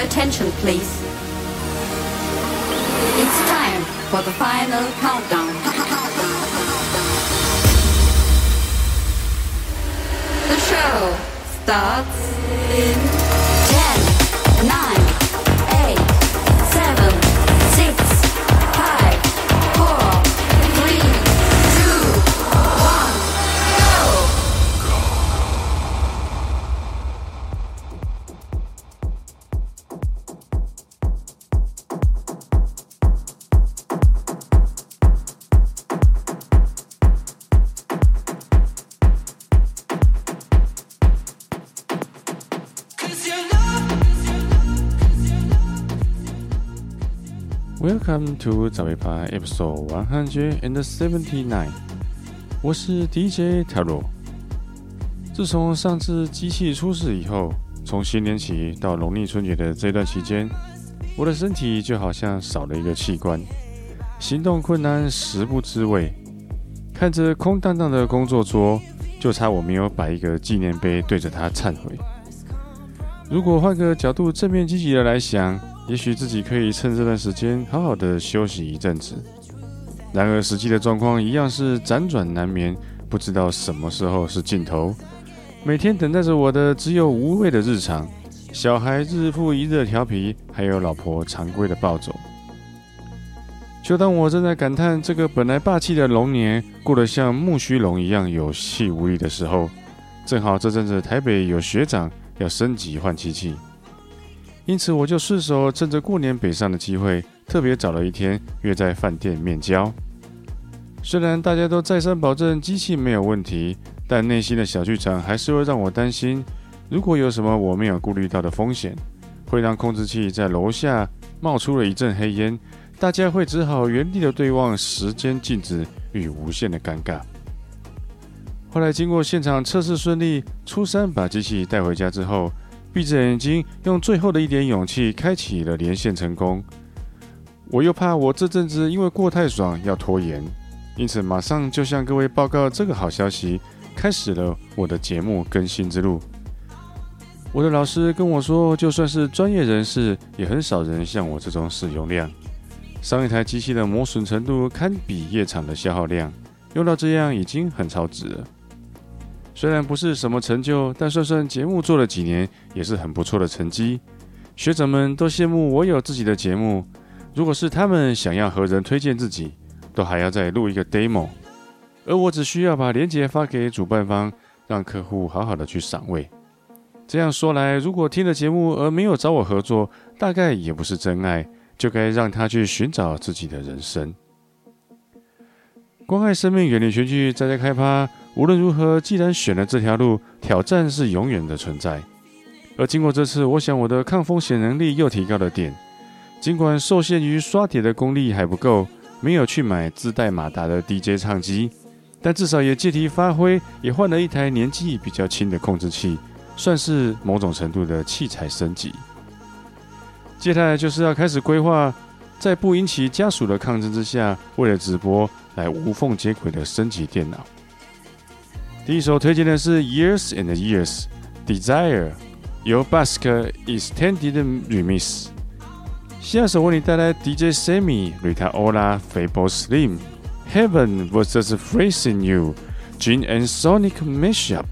attention, please. It's time for the final countdown. The show starts in 10, 9, 8, 7, 6, 5, 4, 3, 2, 1, go! Welcome to 早一趴 Episode 179。我是 DJ Taro。自從上次機器出事以後，從新年起到農曆春節的這段期間，我的身體就好像少了一個器官，行動困難，食不知味。看着空蕩蕩的工作桌，就差我沒有擺一個紀念碑對着它懺悔。如果換個角度，正面積極的來想，也許自己可以趁這段時間好好的休息一陣子。然而實際的狀況一樣是輾轉難眠，不知道什麼時候是盡頭。每天等待着我的只有無味的日常，小孩日復一日的調皮，還有老婆常規的暴走。就當我正在感嘆這個本來霸氣的龍年過得像木須龍一樣有氣無力的時候，正好這陣子台北有學長要升級換機器，因此我就順手趁着過年北上的機會，特別找了一天約在飯店面交。雖然大家都再三保證機器沒有問題，但內心的小劇場還是會讓我擔心，如果有什麼我沒有顧慮到的風險，會讓控制器在樓下冒出了一陣黑煙，大家會只好原地的對望，時間靜止與無限的尷尬。後來經過現場測試順利，初三把機器帶回家之後，閉着眼睛用最後的一點勇氣開啟了連線成功。我又怕我這陣子因為過太爽要拖延，因此馬上就向各位報告這個好消息，開始了我的節目更新之路。我的老師跟我說，就算是專業人士，也很少人像我這種使用量。上一台機器的磨損程度堪比夜場的消耗量，用到這樣已經很超值了。雖然不是什麼成就，但算算節目做了幾年，也是很不錯的成績。學長們都羨慕我有自己的節目，如果是他們想要和人推薦自己，都還要再錄一個 demo， 而我只需要把連結發給主辦方，讓客戶好好的去賞味。這樣說來，如果聽了節目而沒有找我合作，大概也不是真愛，就該讓他去尋找自己的人生。關愛生命，遠離群聚，在家開趴。無論如何，既然選了這條路，挑戰是永遠的存在。而經過這次，我想我的抗風險能力又提高了點。儘管受限於刷碟的功力還不夠，沒有去買自帶馬達的 DJ 唱機，但至少也借題發揮，也換了一台年紀比較輕的控制器，算是某種程度的器材升級。接下來就是要開始規劃，在不引起家屬的抗爭之下，為了直播來無縫接軌的升級電腦。第一首推薦的是 Years and Years Desire 由 Basque Extended Remix。下首為你帶來 DJ Sammy Rita Ora Fable Slim Heaven vs Freezing You Gin and Sonic Mashup。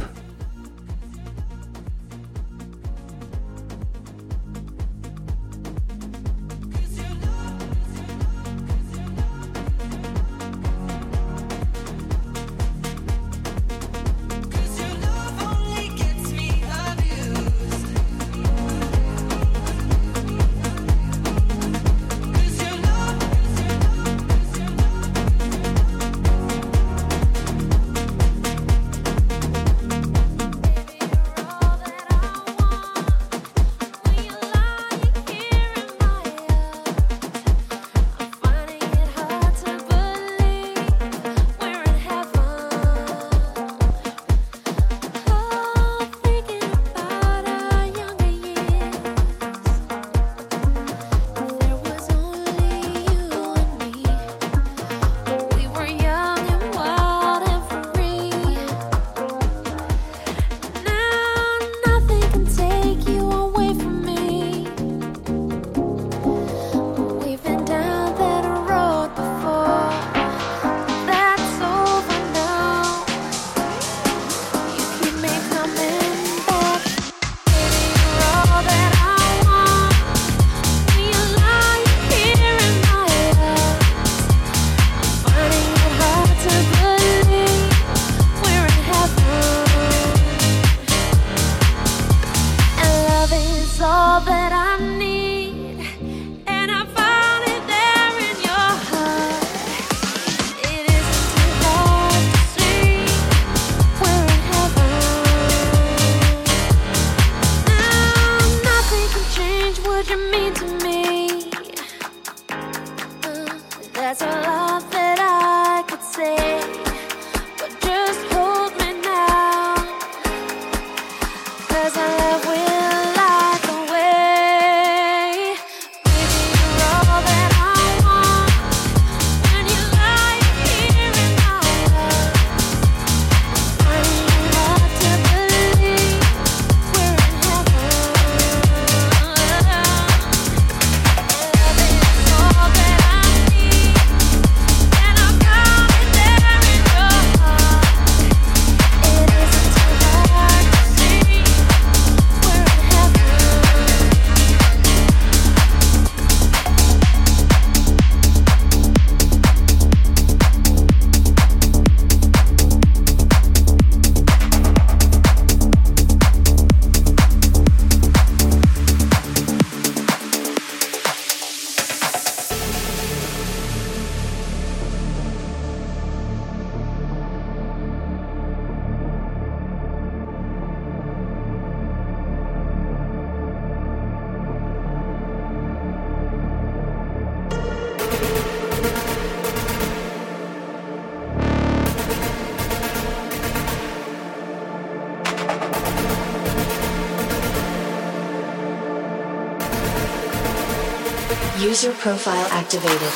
User profile activated.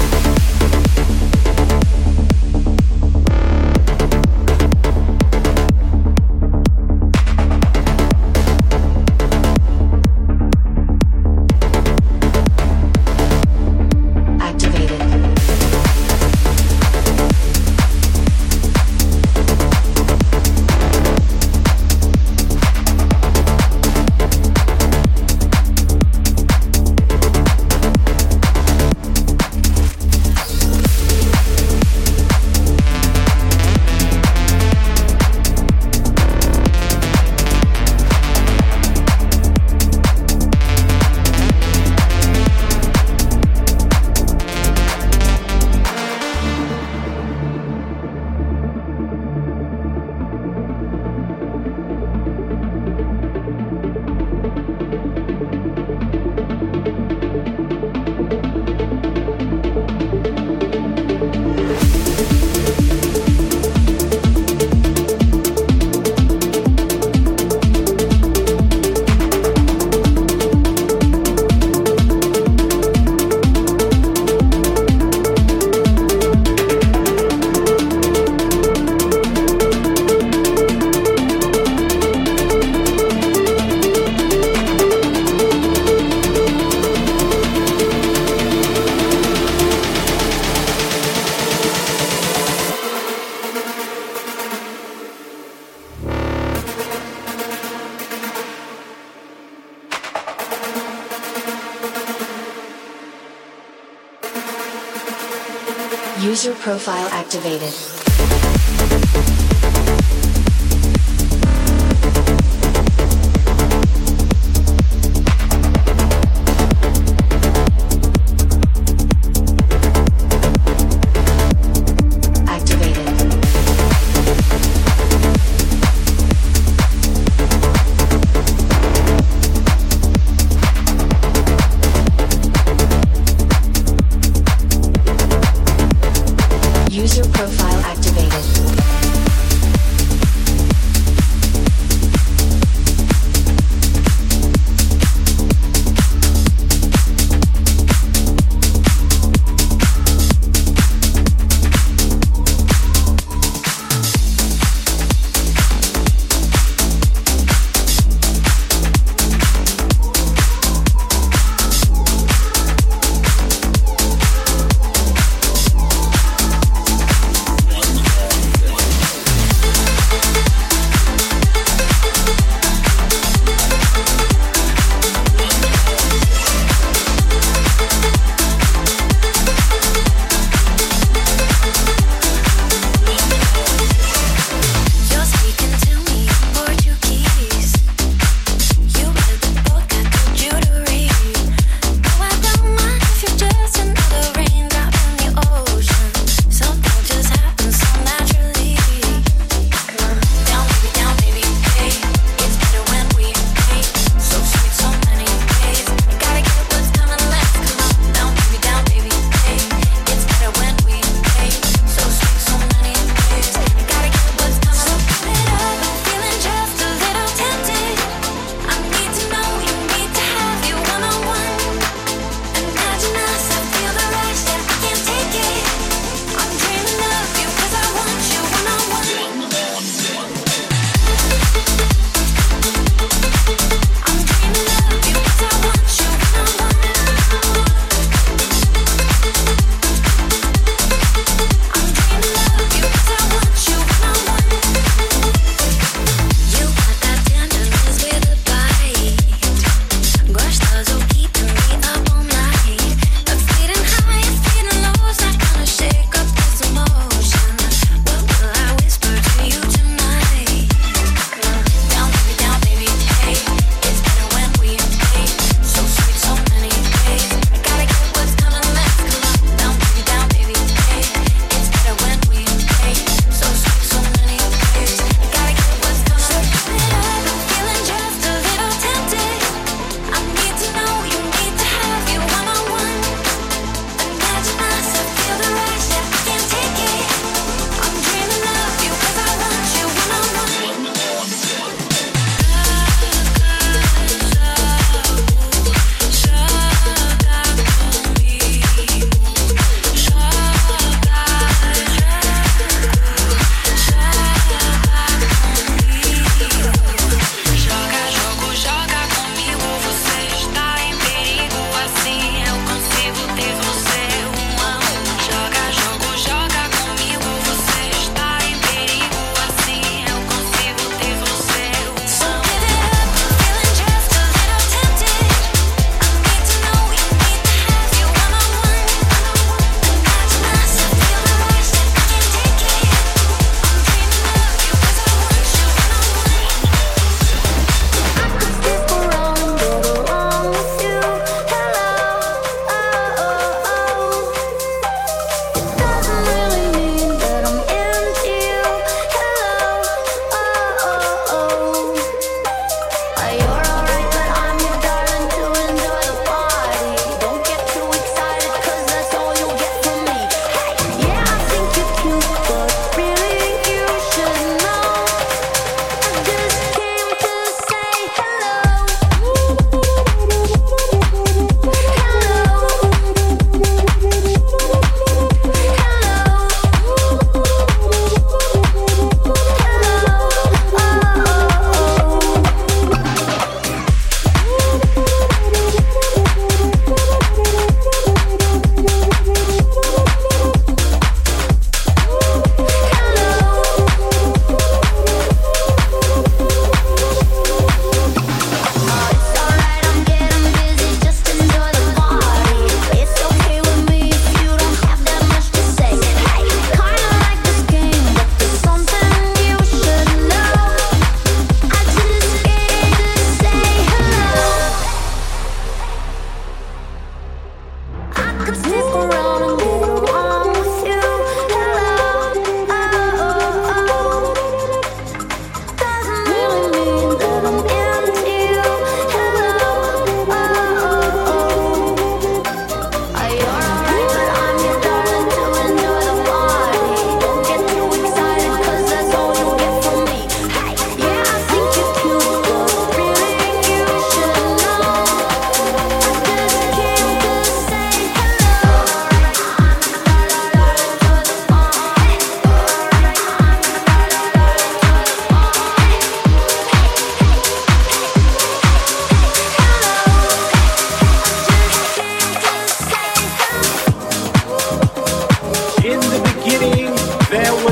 User profile activated. User profile activated.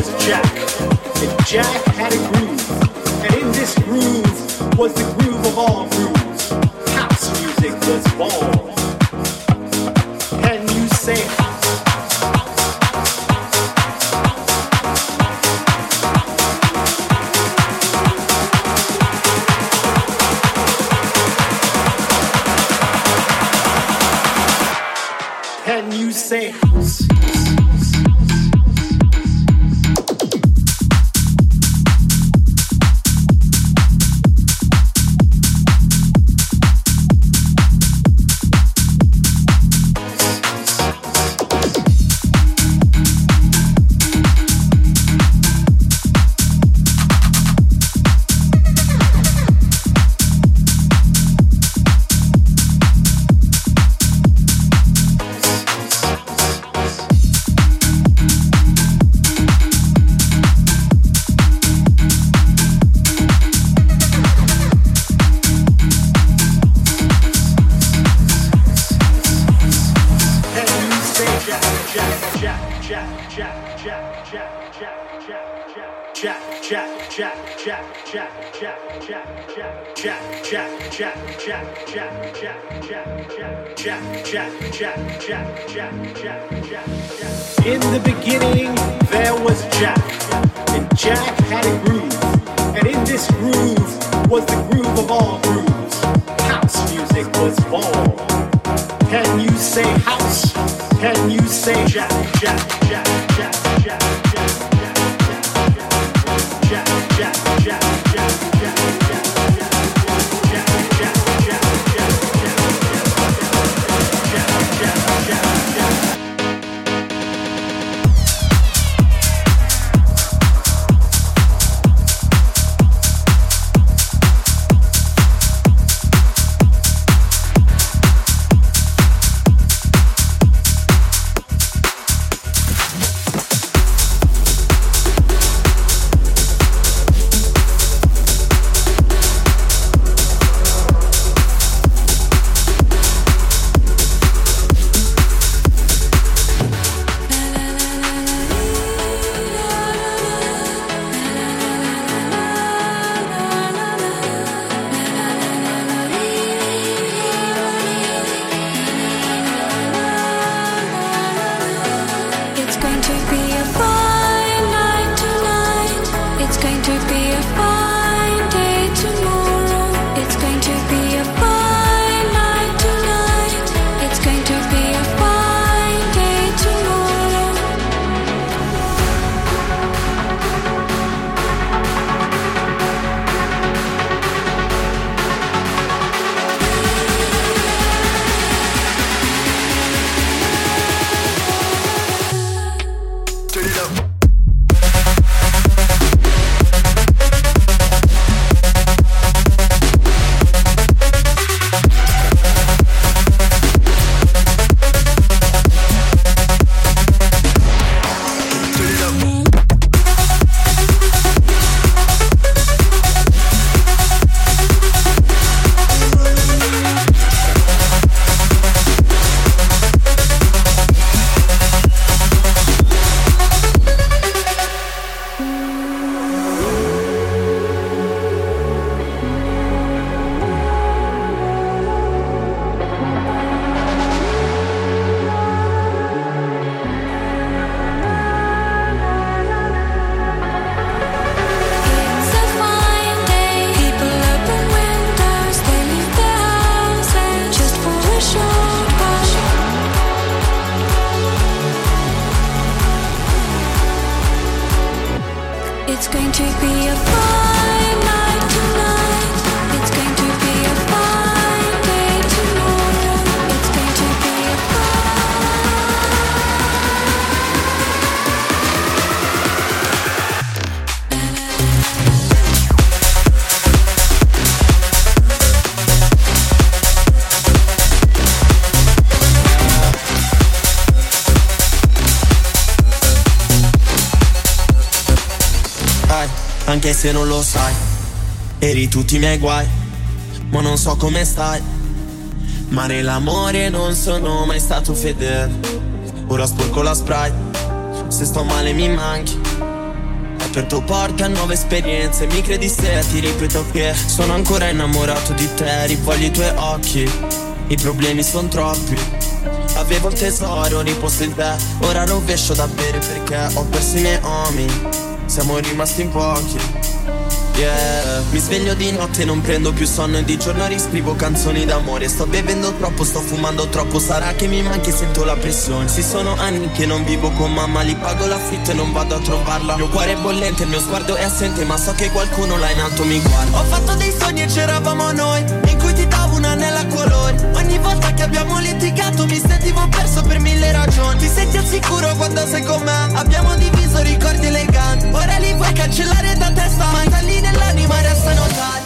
Jack, and Jack had a groove, and in this groove was the groove of all grooves. House music was born. Can you say house? Can you say house? In the beginning, there was Jack, and Jack had a groove, and in this groove was the groove of all grooves. House music was born. Can you say house? Can you say Jack, Jack, Jack, Jack, Jack, Jack, Jack, Jack, Jack, Jack, Jack, Jack, anche se non lo sai. Eri tutti i miei guai, ma non so come stai. Ma nell'amore non sono mai stato fedele. Ora sporco la Sprite, se sto male mi manchi. aperto porte a nuove esperienze. Mi credi se ti ripeto che sono ancora innamorato di te, rivoglio i tuoi occhi, i problemi sono troppi. Avevo il tesoro riposto in te, ora rovescio da bere perché ho perso i miei uomini, siamo rimasti in pochi. Yeah. Mi sveglio di notte e non prendo più sonno e di giorno riscrivo canzoni d'amore. Sto bevendo troppo, sto fumando troppo, sarà che mi manchi e sento la pressione. Sì, sono anni che non vivo con mamma, li pago l'affitto e non vado a trovarla. Il mio cuore è bollente, il mio sguardo è assente, ma so che qualcuno là in alto mi guarda. Ho fatto dei sogni e c'eravamo noi, in cui ti davo un anello a colori. Ogni volta che abbiamo litigato mi sentivo perso per 1000 ragioni. Ti senti al sicuro quando sei con me, abbiamo diviso ricordi eleganti. Ora li vuoi cancellare da testa, ma i tagli nell'anima restano tagli.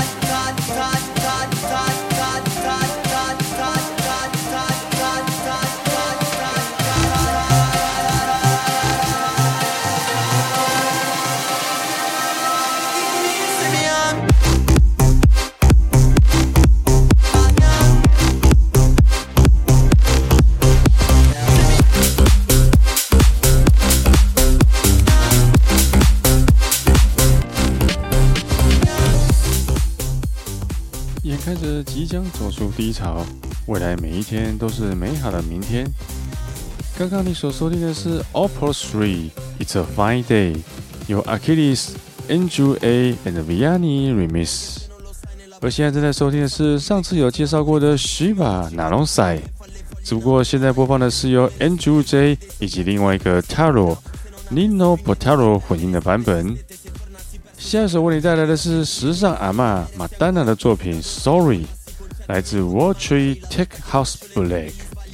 眼看着即将走出低潮，未來每一天都是美好的明天。剛剛你所收聽的是 Opus 3 It's a Fine Day， 由 Achilles、Andrew A and Vianney Remix。而現在正在收聽的是上次有介紹過的 Shiva Nalonsai， 只不過現在播放的是由 Andrew J 以及另外一個 Taro Nino Potaro 混音的版本。下一首為你帶來的是時尚阿嬤馬丹娜的作品 Sorry， 來自 World Tree Tech House Black。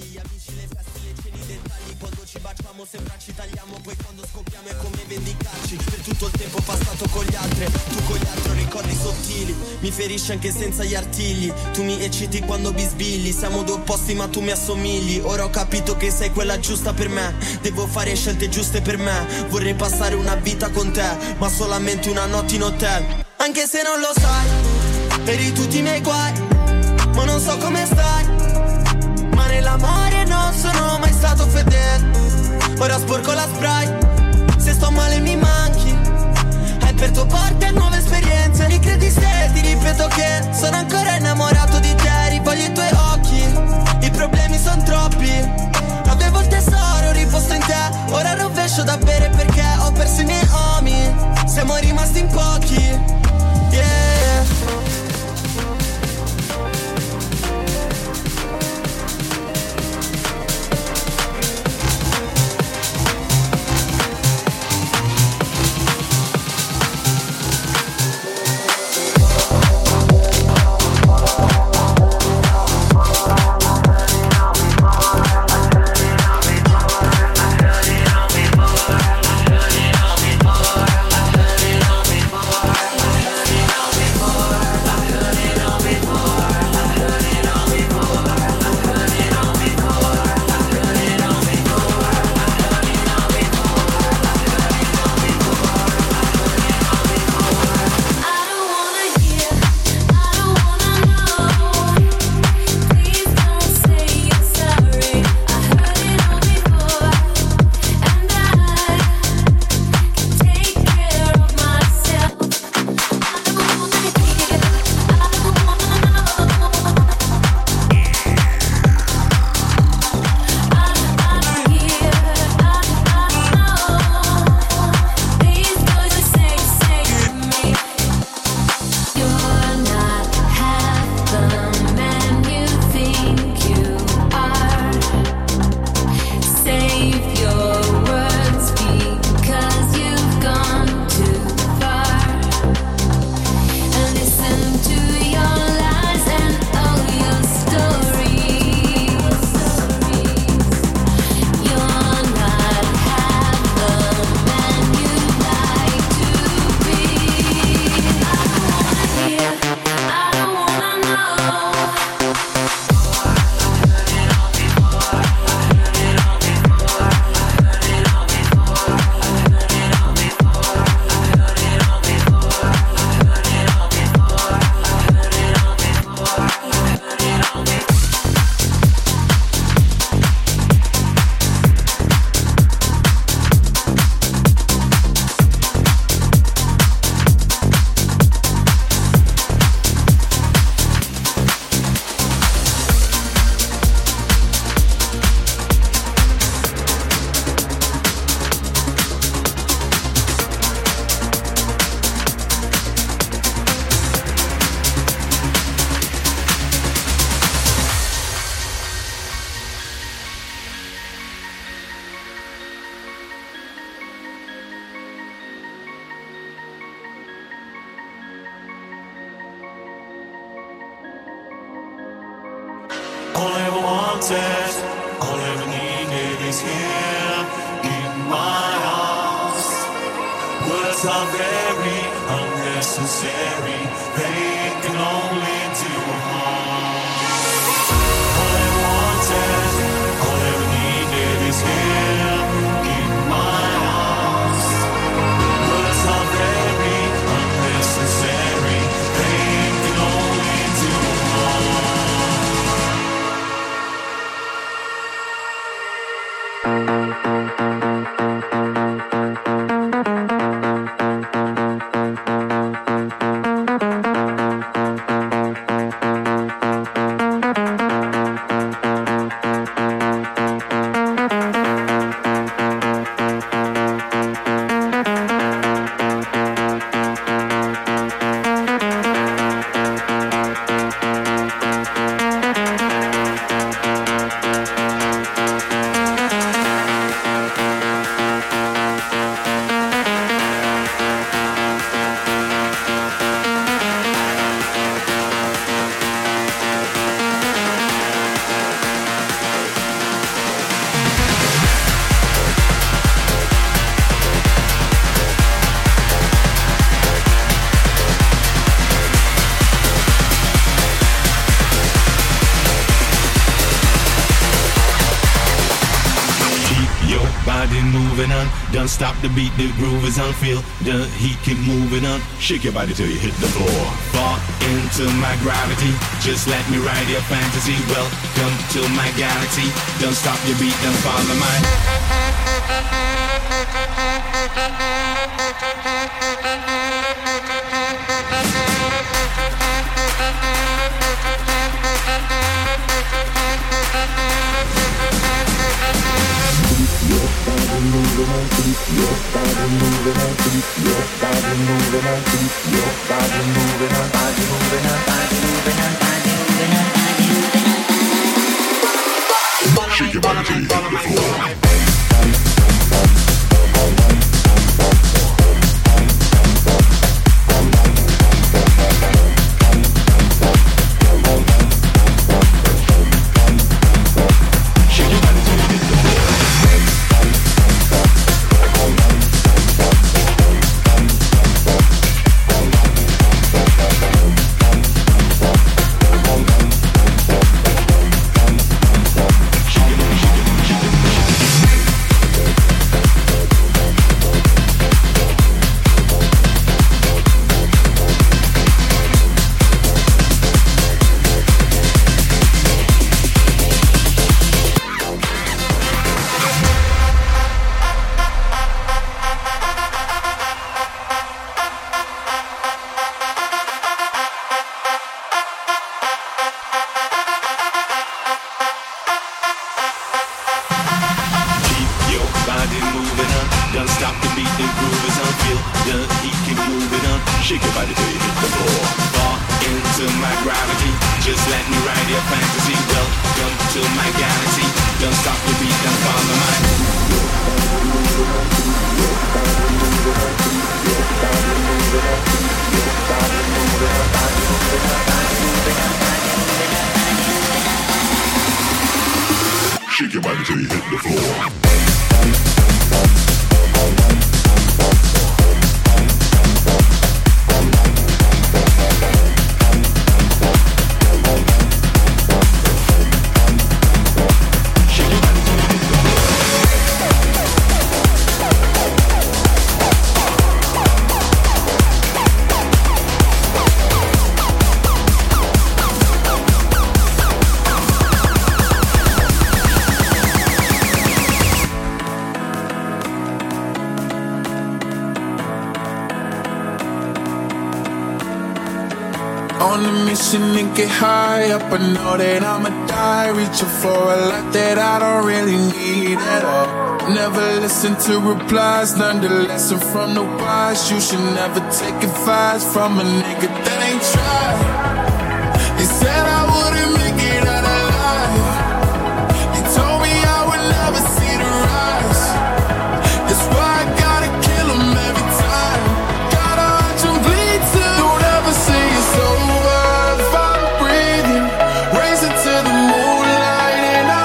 Tutto il tempo passato con gli altri, tu con gli altri ricordi sottili. Mi ferisci anche senza gli artigli, tu mi ecciti quando bisbigli. Siamo due opposti ma tu mi assomigli. Ora ho capito che sei quella giusta per me, devo fare scelte giuste per me. Vorrei passare una vita con te, ma solamente una notte in hotel. Anche se non lo sai, eri tutti i miei guai, ma non so come stai. Ma nell'amore non sono mai stato fedele. Ora sporco la Sprite, se sto male mi manchi, hai aperto porte a nuove esperienze. Mi credi se ti ripeto che sono ancora innamorato di te, rivoglio i tuoi occhi, i problemi sono troppi. Avevo il tesoro riposto in te, ora rovescio da bere perché ho perso i miei uomini, siamo rimasti in pochi. Yeah. wanted, all I ever needed is here in my arms. Words are very unnecessary, they can only do harm. All I wanted, all I ever needed is here in my arms. Words are very unnecessary, they can only do harm. Don't stop the beat, the groove is on. Feel the heat, keep moving on. Shake your body till you hit the floor. Fall into my gravity, just let me ride your fantasy. Welcome to my galaxy. Don't stop your beat, don't follow mine. Shake your body till you hit the floor. Shake your body till you hit the floor. On a mission and get high up. I know that I'ma die, reaching for a lot that I don't really need at all. Never listen to replies, learn the lesson from the wise. You should never take advice from a nigga that ain't tried. He said I wouldn't make it out alive. He told me I would never see the rise. That's why I gotta kill him every time. Gotta watch him bleed too. Don't ever say it's over if I'm breathing. Racing to the moonlight and I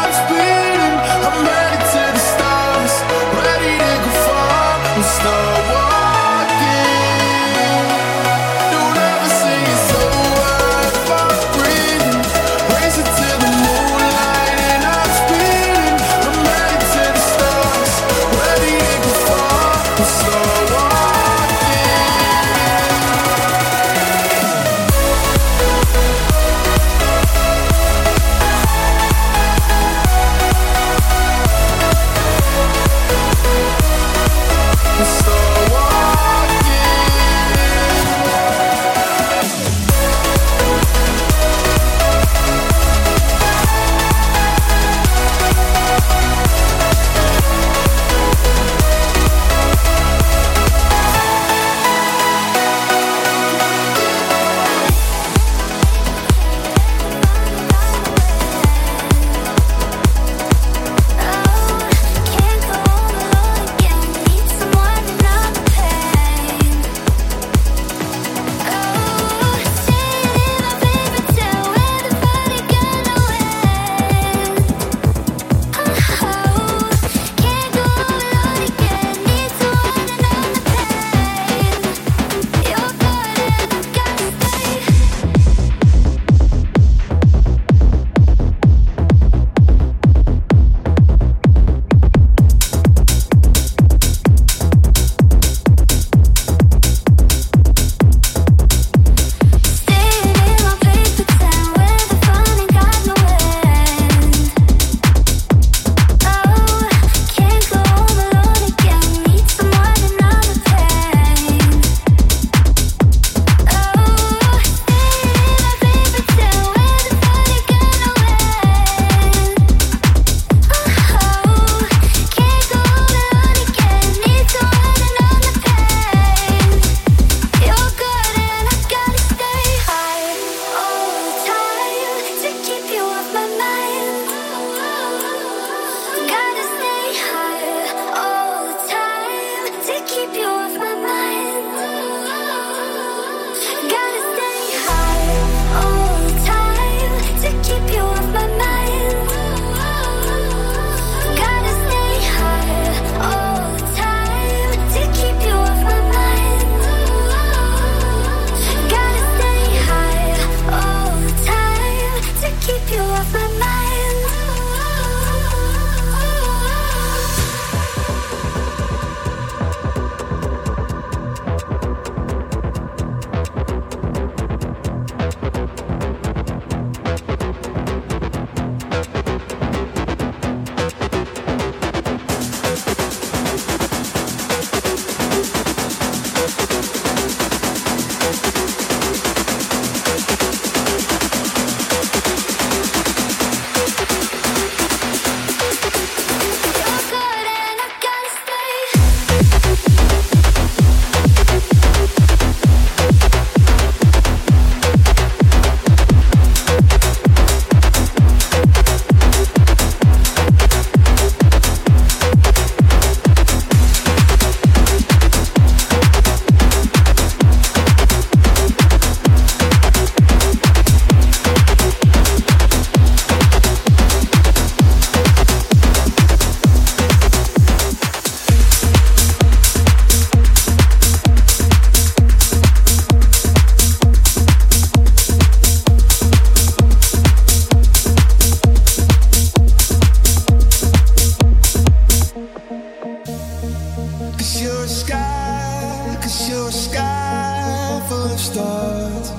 full of stars.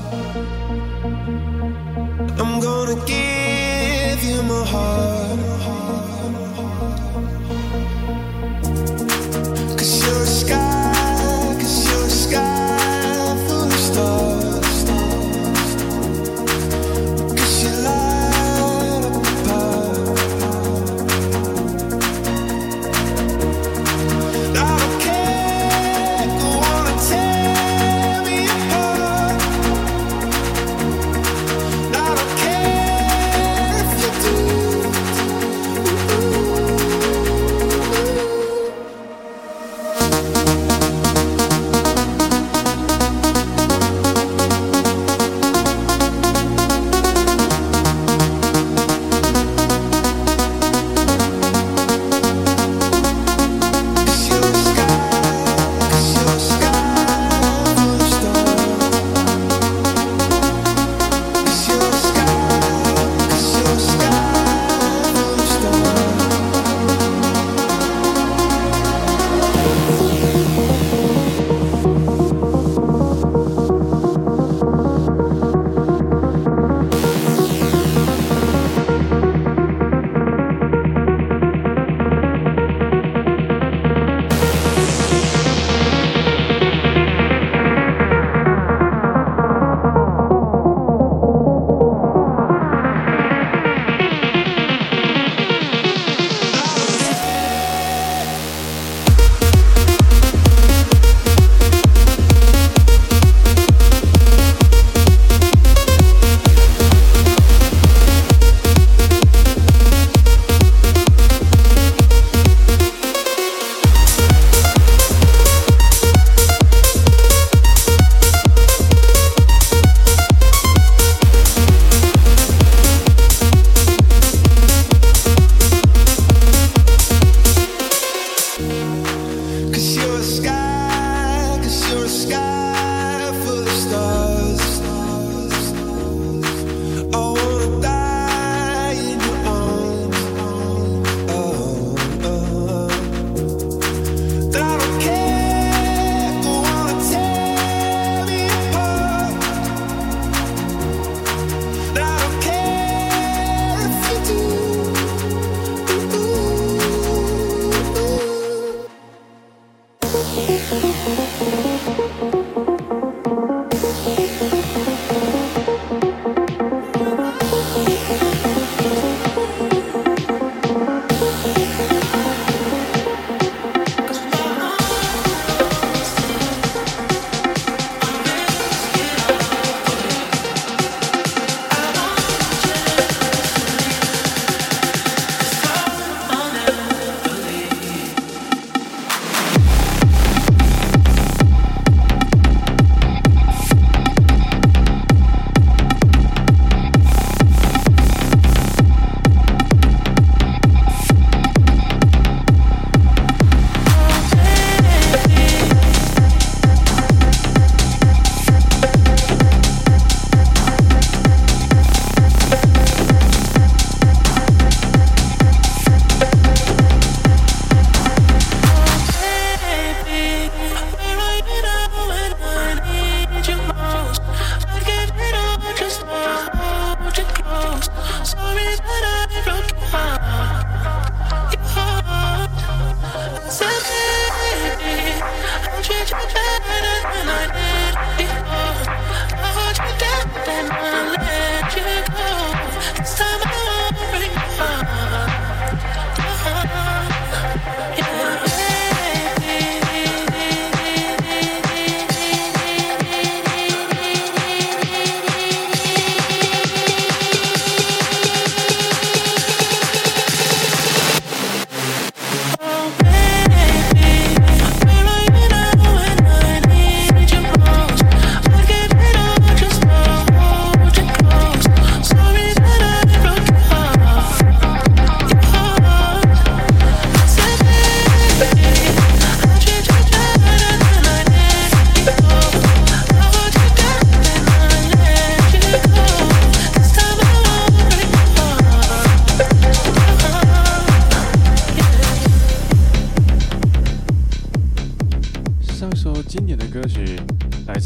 I'm gonna give you my heart. 'Cause you're a sky, 'cause you're a sky full of stars. 'Cause you light up the path. I don't care if you wanna tear me apart. I don't care if you do.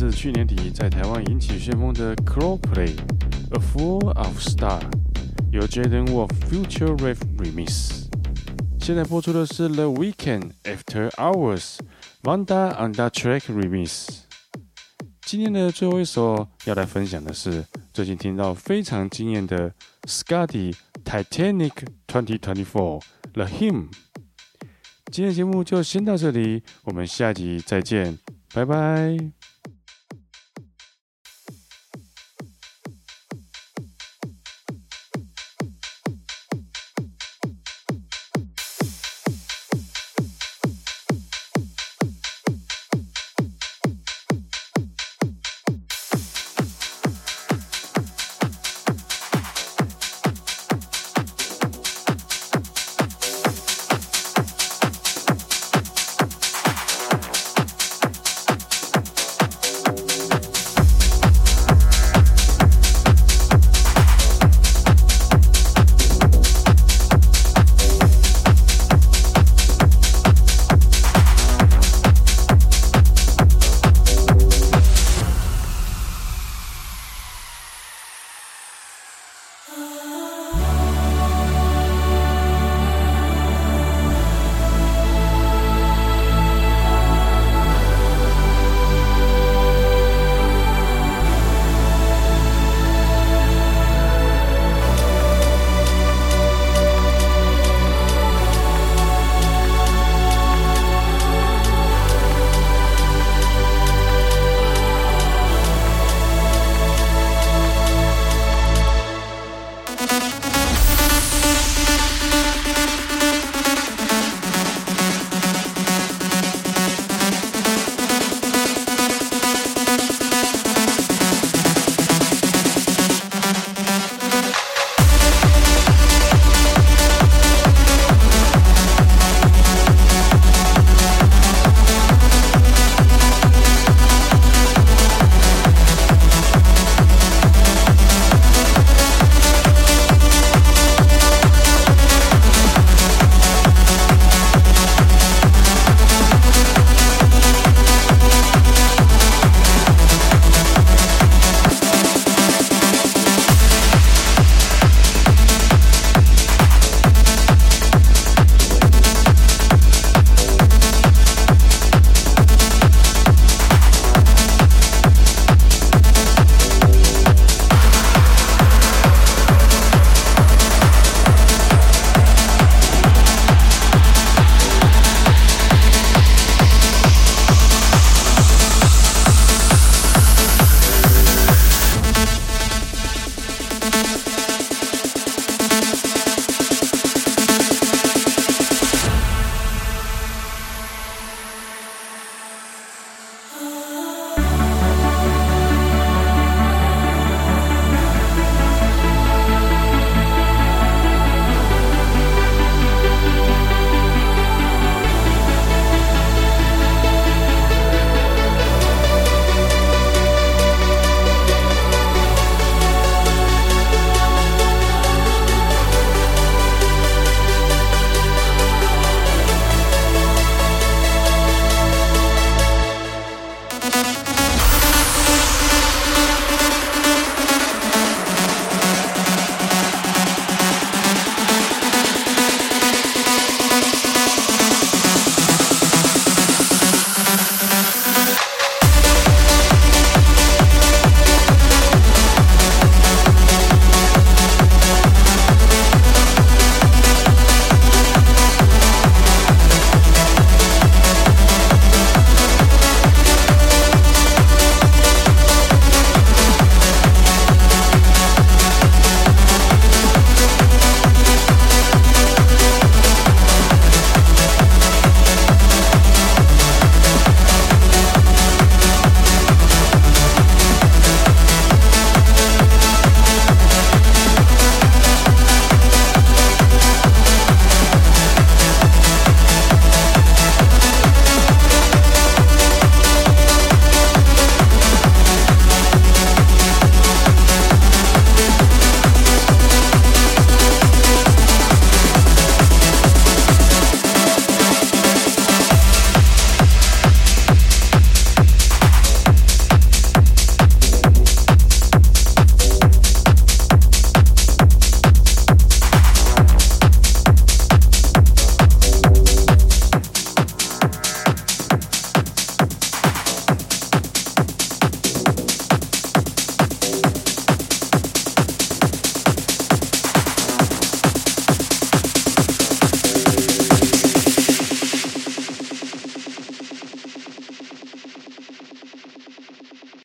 自去年底在台灣引起旋風的 Coldplay A Full of Stars， 由 Jaden Wolf Future Rave Remix。现在播出的是 The Weeknd After Hours Wanda on the Track Remix。今天的最後一首要來分享的是最近聽到非常驚豔的 Scotty Titanic 2024 The Hymn。今天的節目就先到這裡，我們下集再見，拜拜。